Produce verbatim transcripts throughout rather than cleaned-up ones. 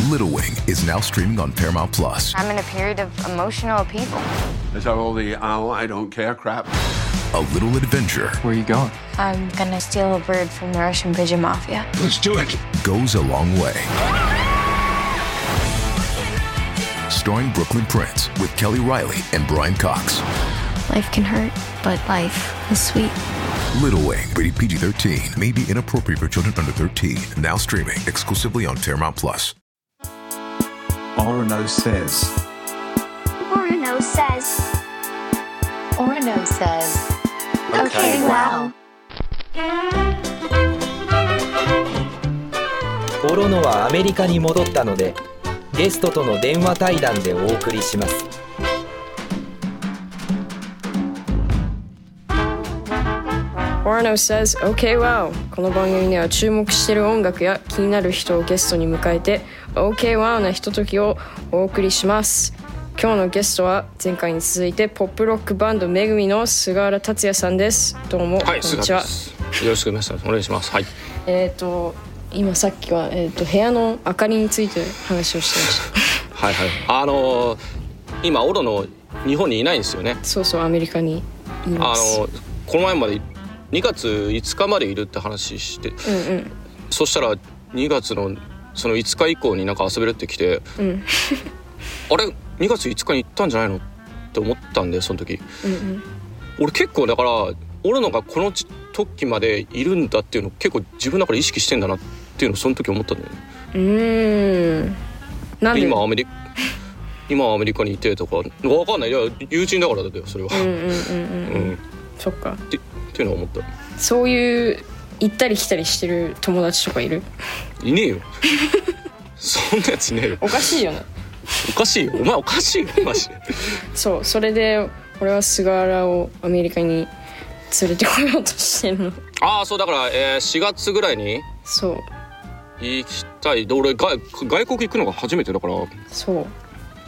Little Wing is now streaming on Paramount Plus. I'm in a period of emotional upheaval. Is that all the oh, I don't care crap? A little adventure. Where are you going? I'm gonna steal a bird from the Russian pigeon mafia. Let's do it. Goes a long way. Starring Brooklyn Prince with Kelly Riley and Brian Cox. Life can hurt, but life is sweet. Little Wing, rated P G thirteen, may be inappropriate for children under thirteen. Now streaming exclusively on Paramount Plus. Orono says. Orono says. Orono says. Okay, wow. オロノはアメリカに戻ったので、ゲストとの電話対談でお送りします。 Orono says, Okay, wow. この番組では注目している音楽や気になる人をゲストに迎えて Okay, wow なひとときをお送りします。今日のゲストは前回に続いてポップロックバンドめぐみの菅原達也さんです。どうも、 はい、 こんにちは。 よろしくお願いします。はい。 えっ、ー、と今さっきは、えー、と部屋の明かりについて話をしてましたはいはい。あのー、今オロノ日本にいないんですよね。 そうそう、アメリカにいます。 あのー、この前までにがついつかまでいるって話して、うんうん、そしたらにがつのそのいつか以降になんか遊べるって来て、うん、あれにがついつかに行ったんじゃないのって思ったんで、その時、うんうん、俺結構だからオロノがこの時までいるんだっていうのを結構自分の中で意識してんだなっていうのをその時思ったんだよね。 うーん、なんで今アメリカ今アメリカにいてとか分かんない。いや友人だからだよそれは。うんうんうんうん、うん、 そっかってっていうのを思った。 そういう行ったり来たりしてる友達とかいる？ いねえよそんなやついねえよ。 おかしいよね。 おかしいよ、お前おかしいよマジで。 そう、それで俺は菅原をアメリカに連れてこようとしてるの。 ああ、そうだから、えー、しがつぐらいにそう行きたい。で俺外外国行くのが初めてだから。 そう、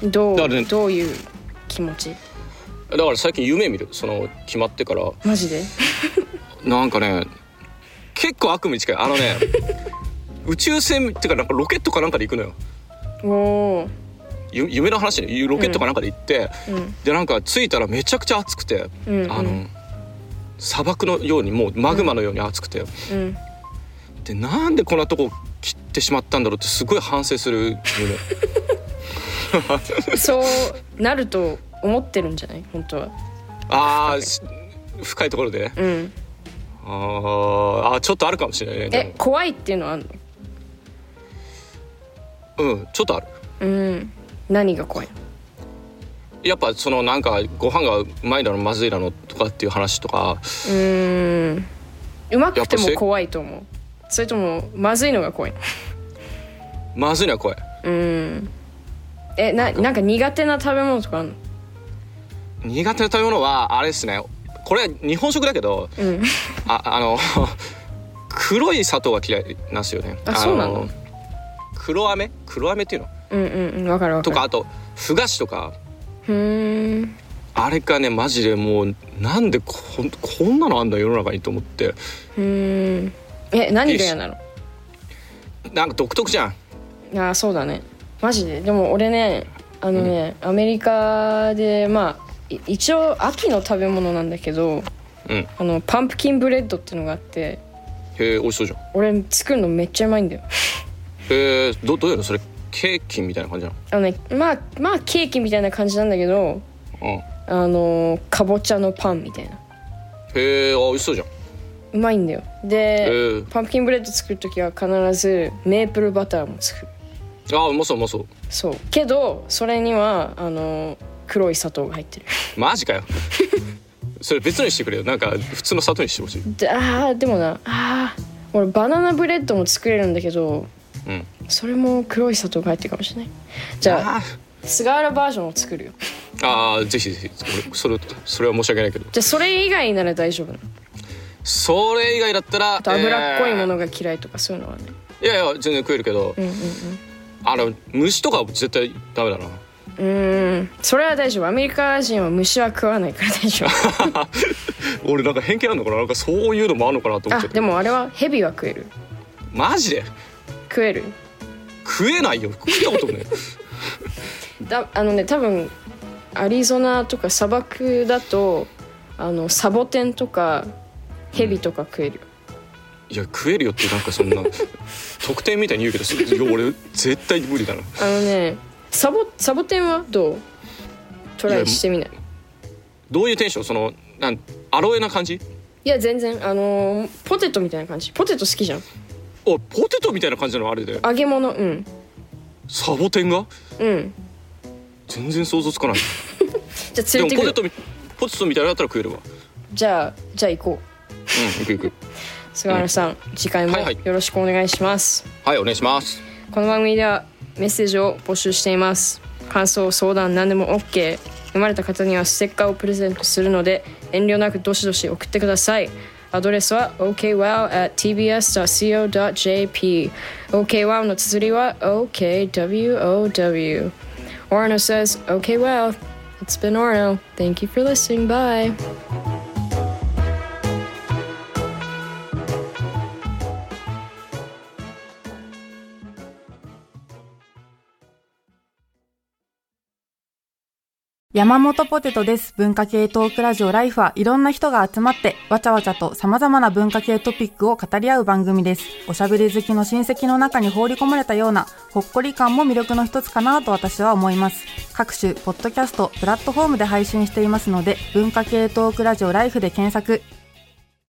どう、ね、どういう気持ち？ だから最近夢見る、その決まってから。 マジで？ なんかね結構悪夢に近い。あのね宇宙船っていうかなんかロケットかなんかで行くのよ。おー、夢の話でロケットかなんかで行って、うん、でなんか着いたらめちゃくちゃ暑くて、うんうん、あの砂漠のようにもうマグマのように暑くて、うん、でなんでこんなとこ切ってしまったんだろうってすごい反省する夢そうなると思ってるんじゃない本当は。 ああ、深いところで、うん、ああちょっとあるかもしれないね。 え、怖いっていうのはあるの？ うんちょっとある。 うん、何が怖いの？ やっぱそのなんかご飯がうまいだのまずいだのとかっていう話とか。うーん、うまくても怖いと思う。それともまずいのが怖いの？ まずいのは怖い。 うん。え、な、なんか苦手な食べ物とかあるの？ 苦手な食べ物はあれですね、これ日本食だけど、うん、あ, あの黒い砂糖が嫌いなんですよね。 あ、そうなの？ 黒飴黒飴っていうの、 うんうん、分かる分かる。 とかあとふ菓子とか。 ふーん、 あれかねマジでもうなんで こ, こんなのあんだ世の中にと思って。 うーん、え、何が嫌なの？ なんか独特じゃん。 あ、そうだねマジで。でも俺ねあのね、うん、アメリカでまあ一応秋の食べ物なんだけど、うん、あのパンプキンブレッドっていうのがあって。 へえ、美味しそうじゃん。 俺作るのめっちゃうまいんだよ。 へえ、ど, どういうのそれ？ケーキみたいな感じなの？ あのね、まあまあケーキみたいな感じなんだけど、うん、あのかぼちゃのパンみたいな。 へえ、あ、美味しそうじゃん。 うまいんだよ。でパンプキンブレッド作るときは必ずメープルバターも作る。 あ、うまそううまそう。 そうけどそれにはあの黒い砂糖が入ってる。 マジかよそれ別にしてくれよ。なんか普通の砂糖にしてほしい。 で、あーでもなあー俺バナナブレッドも作れるんだけど、うん、それも黒い砂糖が入ってるかもしれない。じゃあ菅原バージョンを作るよ。 ああ、ぜひぜひ。それそれは申し訳ないけど。 じゃあそれ以外なら大丈夫なの？ それ以外だったら脂っこいものが嫌いとかそういうのはね。 いやいや全然食えるけど、うんうんうん、あの虫とかは絶対ダメだな。 うーん、それは大丈夫。アメリカ人は虫は食わないから大丈夫俺なんか偏見あるのかな、なんかそういうのもあるのかなと思っちゃって。 あ、でもあれはヘビは食える。 マジで？ 食える？ 食えないよ。食ったことねだあのね多分アリゾナとか砂漠だとあのサボテンとかヘビとか食えるよ、 うん、いや食えるよってなんかそんな特典みたいに言うけどいや俺絶対無理だな。 あのねサボ、サボテンはどうトライしてみない？ どういうテンション？そのなんアロエな感じ？ いや全然あのー、ポテトみたいな感じ。ポテト好きじゃん。 おポテトみたいな感じなのあれで。 揚げ物うん。 サボテンが？うん。全然想像つかない。 じゃあ連れてくる。 でもポテトポテトみたいなのだったら食えるわ。 じゃあじゃあ行こう。 うん行く行く。 菅原さん、うん、次回もよろしくお願いします。 はい、はい、お願いします。 この番組ではメッセージを募集しています。感想相談何でも OK。読まれた方にはステッカーをプレゼントするので遠慮なくどしどし送ってください。アドレスは オーケーワウ アット ティービーエス ドット シーオー ドット ジェーピー オーケーワウ の綴りは オーケーダブリューオーダブリュー。 Orno says okay wow. It's been Orno. Thank you for listening. Bye. 山本ポテトです。文化系トークラジオライフはいろんな人が集まってわちゃわちゃと様々な文化系トピックを語り合う番組です。おしゃべり好きの親戚の中に放り込まれたようなほっこり感も魅力の一つかなと私は思います。各種ポッドキャストプラットフォームで配信していますので文化系トークラジオライフで検索。